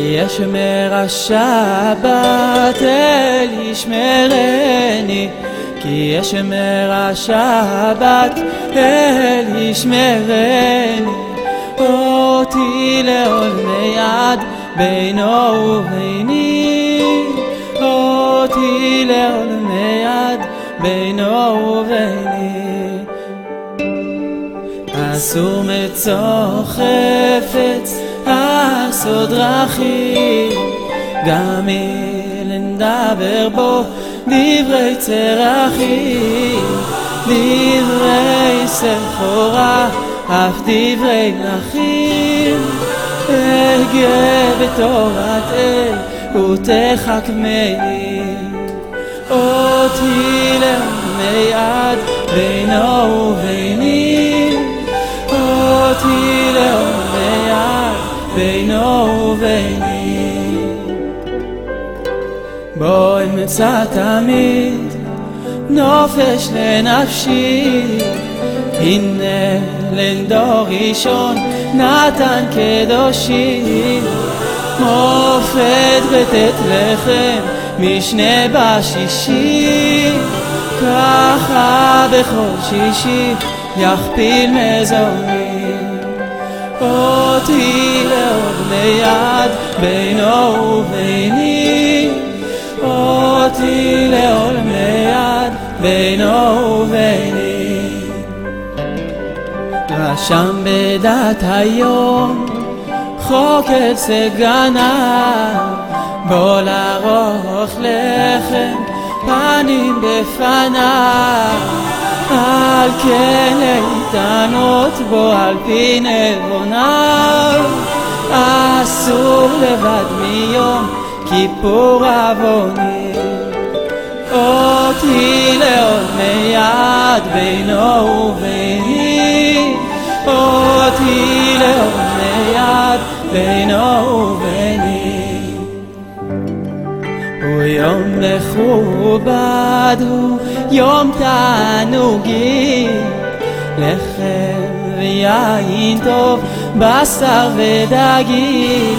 ישמר השבת אל ישמרני, כי ישמר השבת אל ישמרני, אותי לעולמי עד בינו וביני, אותי לעולמי עד בינו וביני. אסור מצוא חפץ, אסור דרכים, גם נדבר בו דברי צרכים, דברי סחורה, אף דברי מלכים. אגה בתורת אל ותחכמני, אותי לעולמי עד בינו וביני, אותי לעולמי עד בינו וביני. בו אמצא תמיד נופש לנפשי, הנה לדור ראשון נתן קדושי, מופת בתת לחם משנה בשישי, ככה בכל שישי יכפיל מזוני, אותי לעולמי עד בינו וביני, אותי לעולמי עד בינו וביני. רשם בדת היום חוקר סגנה, בוא לערוך לחם פנים בפניו, על כן להתענות בו על פי נבוניו, אסור לבד מיום כיפור עווני, אותי לעולמי עד בינו וביני, אותי לעולמי עד בינו וביני. הוא יום מכובד, הוא יום תענוגי, לחם ויין טוב, בשר ודגים,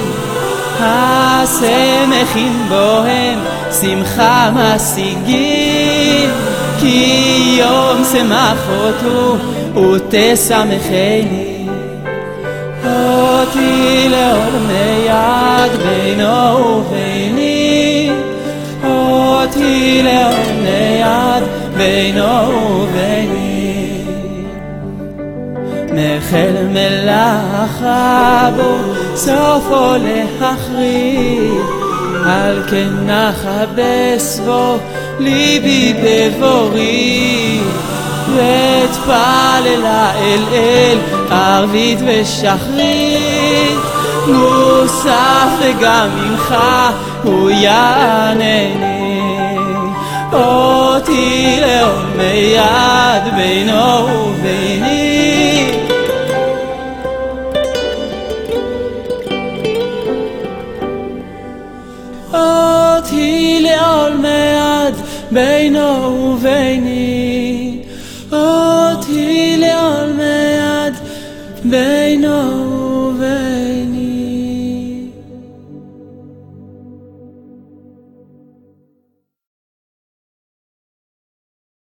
השמחים בוהם שמחה משיגים, כי יום שמחות הוא ותשמחני, אותי לעולמי עד בינו וביני, אותי לעולמי עד בינו וביני. מחל מלאכה בו סופו להחריב, על כן נחבס בו ליבי בבורי, ואתפללה אל ערבית ושחרית, מוסף וגם ממך הוא יענני, אותי לעולמי עד בינו וביני, אותי לעולמי עד בינו וביני, אותי לעולמי עד בינו